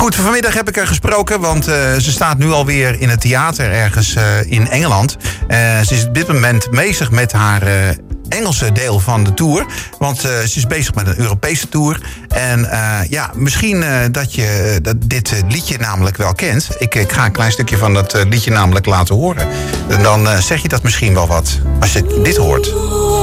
Goed, vanmiddag heb ik haar gesproken, want ze staat nu alweer in het theater ergens in Engeland. Ze is op dit moment bezig met haar Engelse deel van de tour. Want ze is bezig met een Europese tour. En misschien dat je dit liedje namelijk wel kent. Ik ga een klein stukje van dat liedje namelijk laten horen. En dan zeg je dat misschien wel wat, als je dit hoort.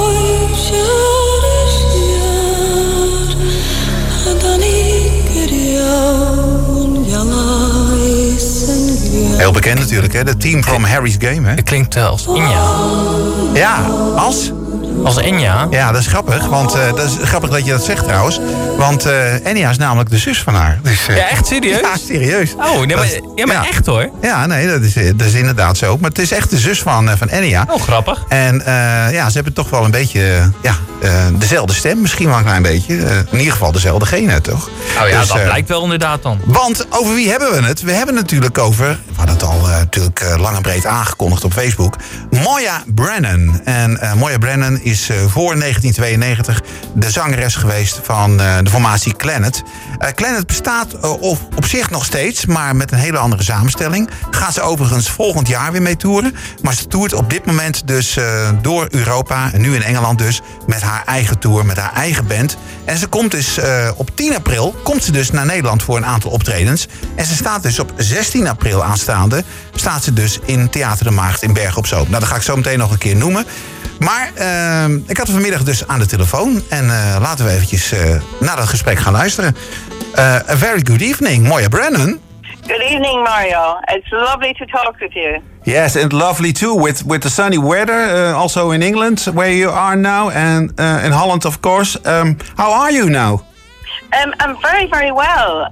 Heel bekend natuurlijk, hè? De Team from Harry's Game, hè? Het klinkt als Enya. Ja, als? Als Enya? Ja, dat is grappig. Want dat is grappig dat je dat zegt trouwens. Want Enya is namelijk de zus van haar. Dus, ja, echt serieus? Ja, serieus. Oh, nee, maar echt hoor. Ja, nee, dat is inderdaad zo. Maar het is echt de zus van Enya. Oh, grappig. En ze hebben toch wel een beetje dezelfde stem. Misschien wel een klein beetje. In ieder geval dezelfde genen, toch? Oh ja, dus, dat blijkt wel inderdaad dan. Want over wie hebben we het? We hebben het natuurlijk over... We hadden het al natuurlijk lang en breed aangekondigd op Facebook. Moya Brennan. En Moya Brennan is voor 1992 de zangeres geweest van de formatie Clannad. Clannad bestaat op zich nog steeds, maar met een hele andere samenstelling. Gaat ze overigens volgend jaar weer mee toeren. Maar ze toert op dit moment dus door Europa, en nu in Engeland dus, met haar eigen tour, met haar eigen band. En ze komt dus op 10 april komt ze dus naar Nederland voor een aantal optredens. En ze staat dus op 16 april aanstaande, staat ze dus in Theater de Maagd in Bergen op Zoom. Nou, dat ga ik zo meteen nog een keer noemen. Maar ik had haar vanmiddag dus aan de telefoon. En laten we eventjes naar dat gesprek gaan luisteren. A very good evening, Moya Brennan. Good evening, Mario. It's lovely to talk with you. Yes, and lovely too, with the sunny weather, also in England, where you are now, and in Holland, of course. How are you now? I'm very, very well.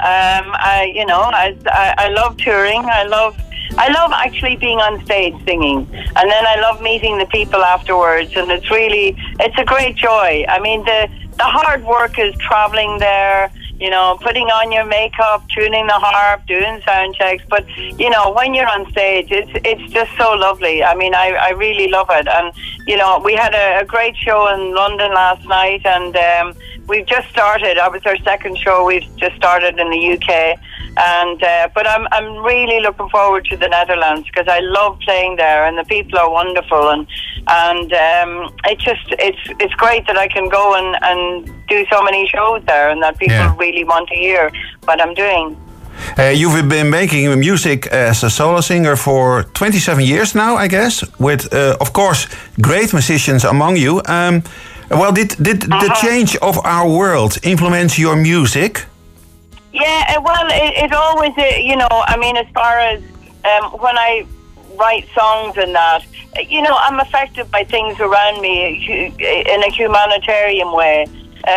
I love touring. I love actually being on stage singing, and then I love meeting the people afterwards, and it's a great joy. I mean, the hard work is traveling there, putting on your makeup, tuning the harp, doing sound checks, but when you're on stage, it's just so lovely. I mean, I really love it, and we had a great show in London last night, and we've just started. That was our second show. We've just started in the UK. And but I'm really looking forward to the Netherlands because I love playing there and the people are wonderful and it's great that I can go and do so many shows there and that people really want to hear what I'm doing. You've been making music as a solo singer for 27 years now, I guess, with of course great musicians among you. Did the change of our world influence your music? Yeah, well, it always, I mean, as far as when I write songs and that, I'm affected by things around me in a humanitarian way.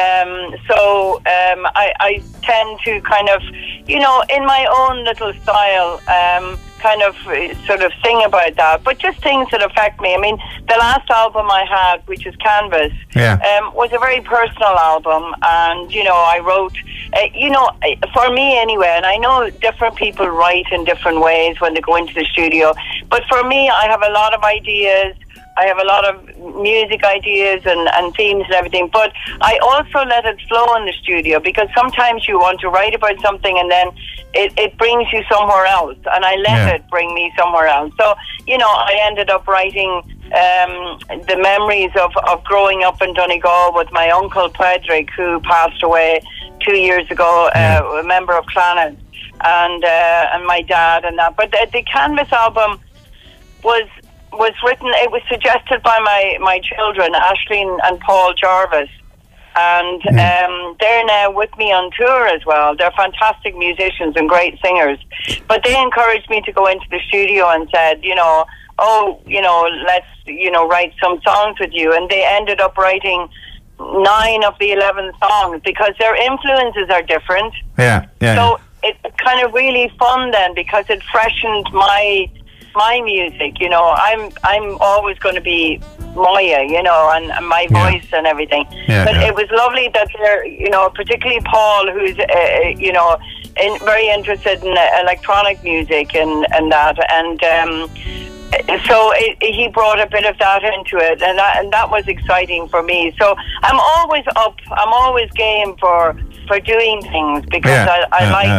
I tend to kind of, in my own little style, kind of sort of sing about that, but just things that affect me. I mean, the last album I had, which is Canvas, was a very personal album, and I wrote, for me anyway, and I know different people write in different ways when they go into the studio, but for me, I have a lot of ideas. I have a lot of music ideas and themes and everything, but I also let it flow in the studio because sometimes you want to write about something and then it brings you somewhere else, and I let it bring me somewhere else. So, I ended up writing the memories of growing up in Donegal with my uncle Padraig, who passed away 2 years ago, a member of Clannad, and my dad and that. But the Canvas album was written, it was suggested by my children, Aisling and Paul Jarvis. And they're now with me on tour as well. They're fantastic musicians and great singers. But they encouraged me to go into the studio and said, let's, write some songs with you. And they ended up writing 9 of the 11 songs because their influences are different. So it's kind of really fun then because it freshened my music. I'm always going to be Moya, and my voice and everything. But it was lovely that they're, particularly Paul, who's, very interested in electronic music and that. And so he brought a bit of that into it, and that was exciting for me. So I'm always up. I'm always game for doing things because I like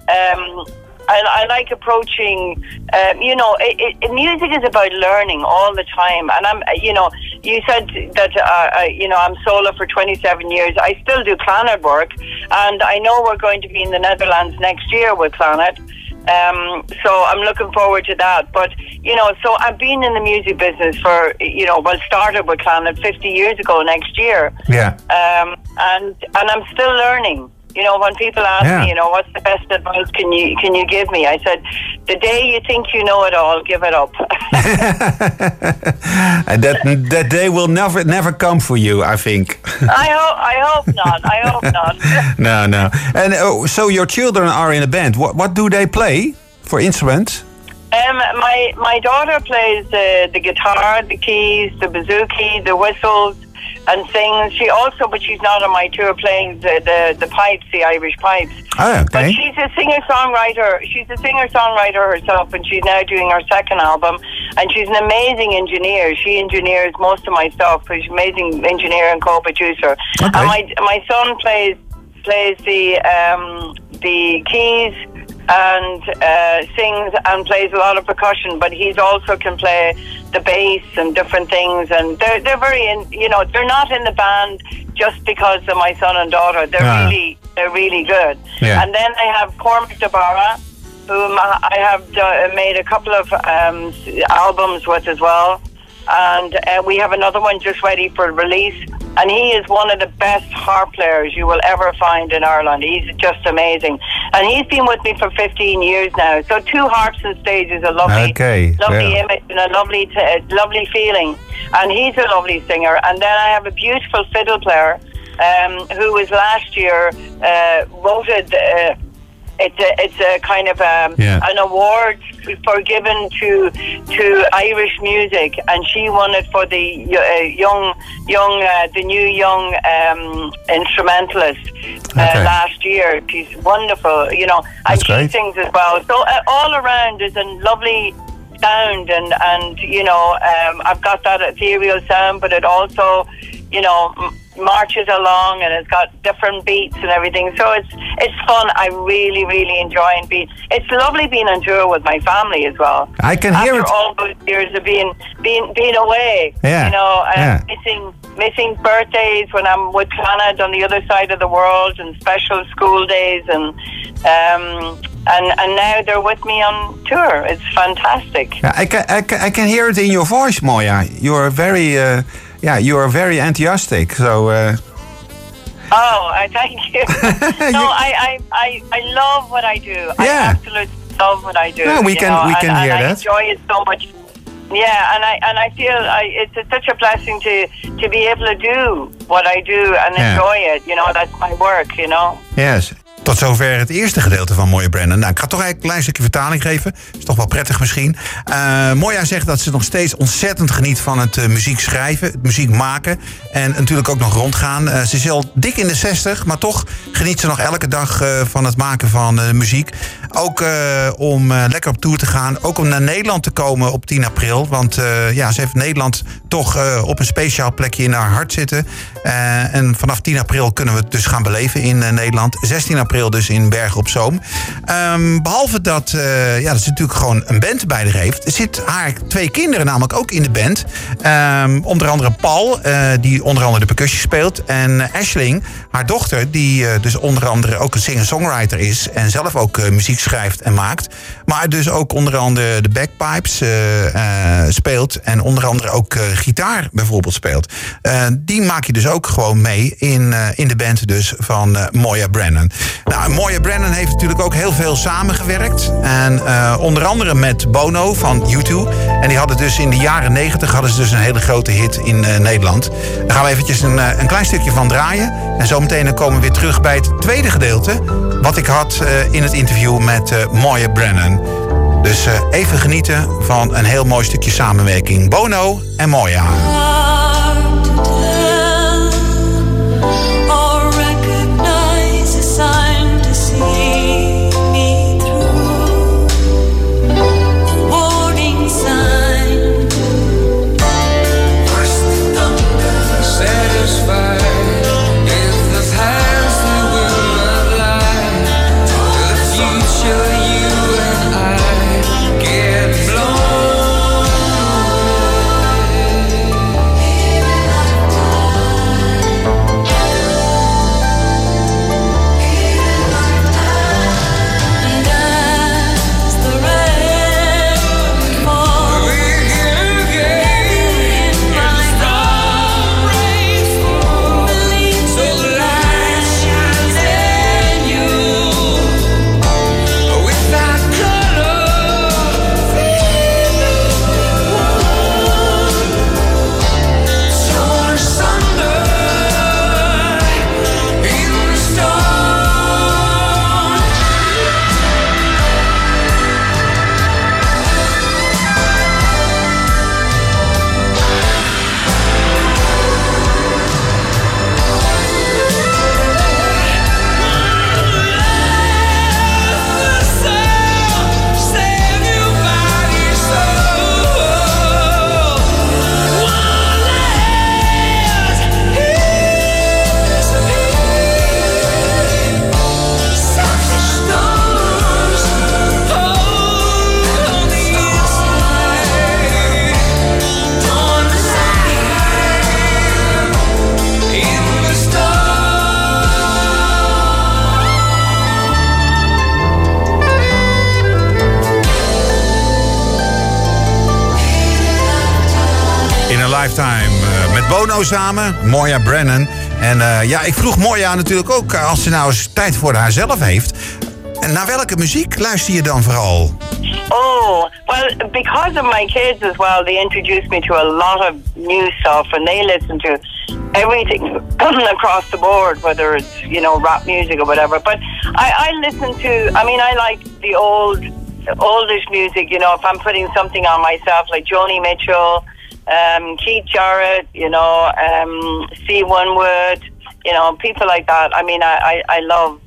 I like approaching, music is about learning all the time. And you said that, I'm solo for 27 years. I still do Clannad work. And I know we're going to be in the Netherlands next year with Clannad. So I'm looking forward to that. But, so I've been in the music business for, started with Clannad 50 years ago next year. Yeah. And I'm still learning. When people ask me, what's the best advice can you give me? I said, the day you think you know it all, give it up. And that day will never come for you, I think. I hope not. I hope not. No. And so your children are in a band. What do they play for instruments? My daughter plays the guitar, the keys, the bouzouki, the whistles, and sings. But she's not on my tour playing the pipes, the Irish pipes. Oh, okay. But she's a singer-songwriter. She's a singer-songwriter herself, and she's now doing her second album. And she's an amazing engineer. She engineers most of my stuff. She's an amazing engineer and co-producer. Okay. And my son plays the keys and sings and plays a lot of percussion, but he's also can play the bass and different things. And they're very, they're not in the band just because of my son and daughter. They're really good. Yeah. And then I have Cormac DeBarra, whom I have made a couple of albums with as well. And we have another one just ready for release. And he is one of the best harp players you will ever find in Ireland. He's just amazing. And he's been with me for 15 years now. So 2 harps on stage is a lovely image and a lovely feeling. And he's a lovely singer. And then I have a beautiful fiddle player who was last year voted... It's a kind of an award given to Irish music, and she won it for the new young instrumentalist last year. She's wonderful, and she sings as well. So all around is a lovely sound, and I've got that ethereal sound, but it also, marches along, and it's got different beats and everything. So it's fun. I really, really enjoy it's lovely being on tour with my family as well. I can hear it. After all those years of being away, missing birthdays when I'm with Clannad on the other side of the world, and special school days, and now they're with me on tour. It's fantastic. I can hear it in your voice, Moya. You are very enthusiastic. So. Thank you. No, I love what I do. I absolutely love what I do. Yeah, we can hear that. I enjoy it so much. Yeah, and I feel it's such a blessing to be able to do what I do and enjoy it. That's my work. Yes. Tot zover het eerste gedeelte van Moya Brennan. Nou, ik ga toch eigenlijk een klein stukje vertaling geven. Is toch wel prettig misschien. Moya zegt dat ze nog steeds ontzettend geniet van het muziek schrijven, het muziek maken. En natuurlijk ook nog rondgaan. Ze is al dik in de 60, maar toch geniet ze nog elke dag van het maken van muziek. Ook om lekker op tour te gaan. Ook om naar Nederland te komen op 10 april. Want ze heeft Nederland toch op een speciaal plekje in haar hart zitten. En vanaf 10 april kunnen we het dus gaan beleven in Nederland. 16 april dus in Bergen op Zoom. Behalve dat ze natuurlijk gewoon een band bij haar heeft. Er zit haar 2 kinderen namelijk ook in de band. Onder andere Paul, die onder andere de percussie speelt. En Aisling, haar dochter, die dus onder andere ook een singer-songwriter is. En zelf ook muziek schrijft en maakt. Maar dus ook onder andere de bagpipes speelt. En onder andere ook gitaar bijvoorbeeld speelt. Die maak je dus ook gewoon mee in de band dus van Moya Brennan. Nou, Moya Brennan heeft natuurlijk ook heel veel samengewerkt. En onder andere met Bono van U2. En die hadden dus in de jaren 90 hadden ze dus een hele grote hit in Nederland. Daar gaan we eventjes een klein stukje van draaien. En zometeen dan komen we weer terug bij het tweede gedeelte. Wat ik had in het interview met Moya Brennan. Dus even genieten van een heel mooi stukje samenwerking. Bono en Moya. Future Met Bono samen, Moya Brennan. En ja, ik vroeg Moya natuurlijk ook, als ze nou eens tijd voor haarzelf heeft. En naar welke muziek luister je dan vooral? Oh, well, because of my kids as well, they introduced me to a lot of new stuff, and they listen to everything across the board, whether it's, you know, rap music or whatever. But I listen to, I mean, I like the oldish music, you know, if I'm putting something on myself, like Joni Mitchell, Keith Jarrett, you know, C. Winwood, you know, people like that. I mean, I love,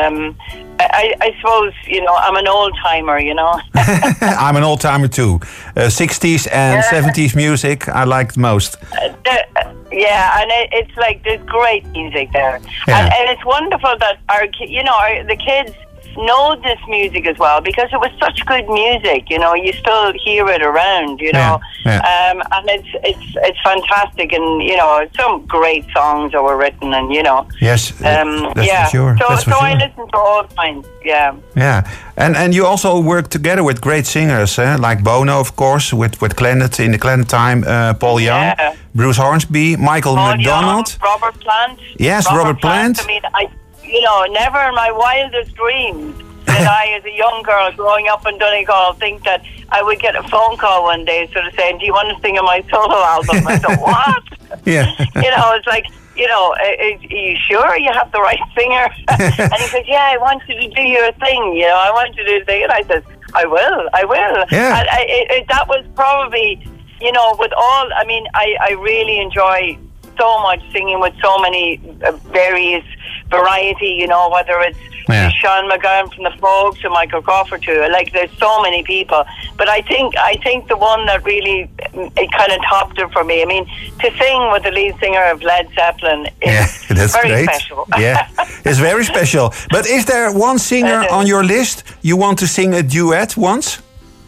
I suppose, you know, I'm an old-timer, you know. I'm an old-timer too. 60s and 70s music I like most. Yeah, and it's like, there's great music there. Yeah. And it's wonderful that the kids know this music as well, because it was such good music, you know, you still hear it around, you know. Yeah. And it's fantastic, and, you know, some great songs that were written, and, you know. Yes, that's yeah. for sure. So I listen to all kinds, yeah. Yeah, and you also work together with great singers, like Bono, of course, with Clannad in the Clannad time, Paul Young, Bruce Hornsby, Michael Paul McDonald. Young, Robert Plant. Yes, Robert Plant. I mean, you know, never in my wildest dreams did I, as a young girl growing up in Donegal, think that I would get a phone call one day sort of saying, do you want to sing on my solo album? I thought, what? Yeah. You know, it's like, you know, are you sure you have the right singer? And he said, yeah, I want you to do your thing, you know, I want you to do it. And I said, I will. Yeah. And that was probably, you know, with all, I mean, I really enjoy so much singing with so many various variety, you know, whether it's Sean McGowan from the Pogues to Michael Crawford to, like, there's so many people. But I think the one that really, it kind of topped it for me. I mean, to sing with the lead singer of Led Zeppelin is that's very great. special. Yeah, it's very special. But is there one singer on your list you want to sing a duet once?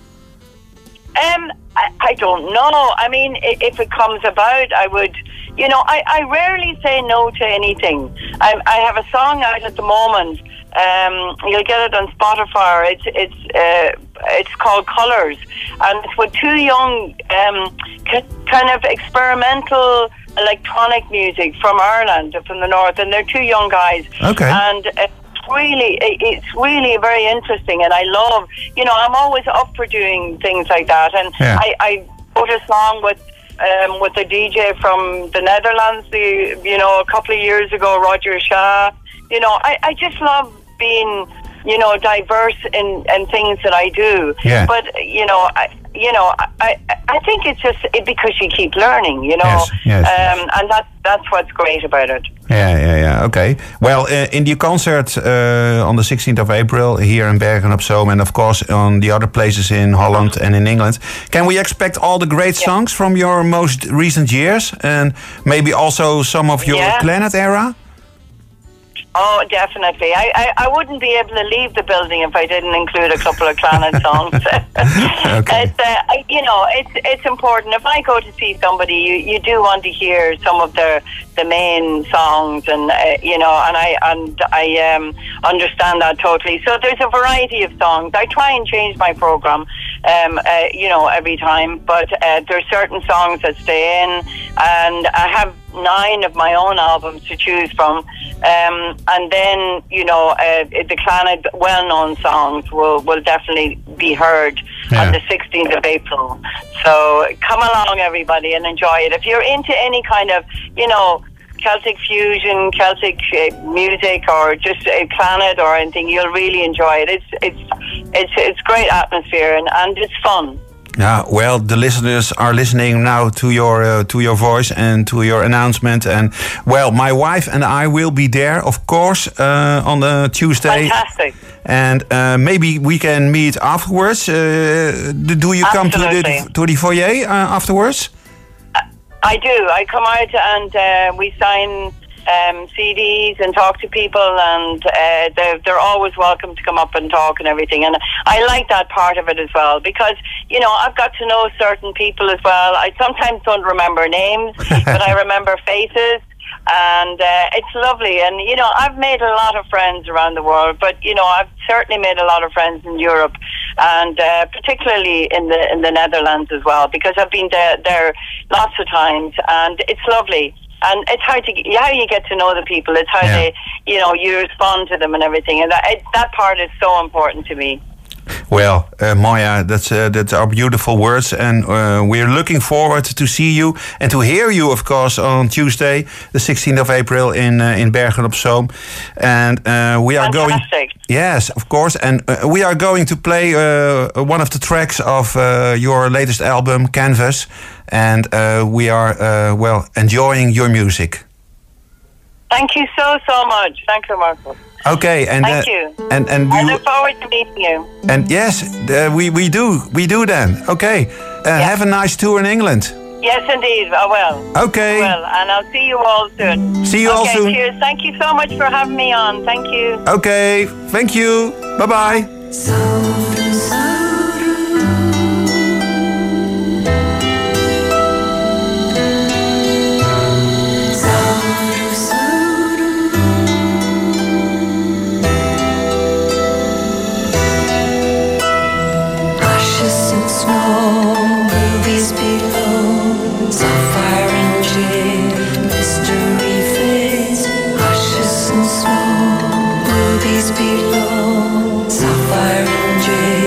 I don't know. I mean, if it comes about, I would. You know, I rarely say no to anything. I have a song out at the moment. You'll get it on Spotify. It's called Colours, and it's with two young, kind of experimental electronic music from Ireland, from the north, and they're two young guys. Okay. And it's really very interesting, and I love. You know, I'm always up for doing things like that, and I wrote a song with a DJ from the Netherlands, you know, a couple of years ago, Roger Shah. You know, I just love being, you know, diverse in things that I do. Yeah. But you know, I think it's just because you keep learning, you know. Yes. And that's what's great about it. Yeah. Okay. Well, in the concert on the 16th of April here in Bergen op Zoom, and of course on the other places in Holland and in England, can we expect all the great songs from your most recent years, and maybe also some of your Clannad era? Oh, definitely. I wouldn't be able to leave the building if I didn't include a couple of Clannad songs. Okay. It's important. If I go to see somebody, you do want to hear some of the main songs, and I understand that totally. So there's a variety of songs. I try and change my program, every time, but there's certain songs that stay in, and I have 9 of my own albums to choose from, and then the Clannad well-known songs will definitely be heard on the 16th of April. So come along, everybody, and enjoy it. If you're into any kind of Celtic fusion, Celtic music, or just Clannad or anything, you'll really enjoy it. It's great atmosphere, and it's fun. Yeah, well, the listeners are listening now to your voice and to your announcement. And, well, my wife and I will be there, of course, on the Tuesday. Fantastic. And maybe we can meet afterwards. Do you come to the foyer afterwards? I do. I come out and we sign CDs and talk to people, and they're always welcome to come up and talk and everything. And I like that part of it as well, because I've got to know certain people as well. I sometimes don't remember names, but I remember faces, and it's lovely. And I've made a lot of friends around the world, but I've certainly made a lot of friends in Europe, and particularly in the Netherlands as well, because I've been there lots of times, and it's lovely. And it's how you get to know the people. It's how they, you respond to them and everything. And that part is so important to me. Well, Moya, that's our beautiful words, and we're looking forward to see you and to hear you, of course, on Tuesday, the 16th of April in Bergen op Zoom. And we are Fantastic. Yes, of course, and we are going to play one of the tracks of your latest album, Canvas, and we are enjoying your music. Thank you so much. Thank you, Marco. Okay, and thank you. And I look forward to meeting you. And yes, we do then. Okay, have a nice tour in England. Yes, indeed. I will. Okay. I will, and I'll see you all soon. See you all soon. Cheers. Thank you so much for having me on. Thank you. Okay. Thank you. Bye bye. Sapphire and jade.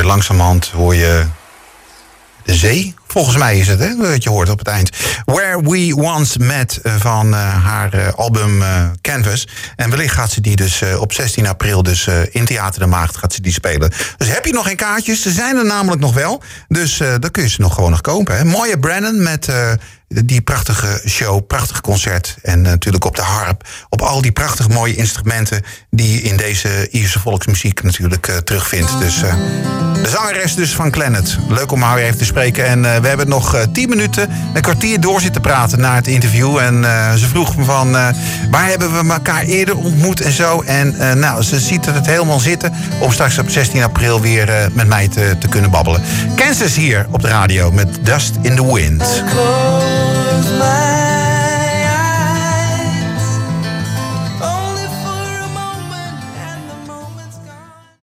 je langzamerhand de zee. Volgens mij is het, hè, wat je hoort op het eind. Where We Once Met van haar album Canvas. En wellicht gaat ze die dus op 16 april dus in Theater de Maagd gaat ze die spelen. Dus heb je nog geen kaartjes? Ze zijn er namelijk nog wel. Dus dan kun je ze gewoon nog kopen. Hè. Moya Brennan met die prachtige show, prachtig concert. En natuurlijk op de harp. Op al die prachtig mooie instrumenten die je in deze Ierse volksmuziek natuurlijk terugvindt. Dus de zangeres dus van Clannad. Leuk om haar weer even te spreken. En we hebben nog 10 minuten, een kwartier door zitten praten na het interview. En ze vroeg me van, waar hebben we elkaar eerder ontmoet en zo. En nou, ze ziet het helemaal zitten om straks op 16 april weer met mij te kunnen babbelen. Kansas hier op de radio met Dust in the Wind.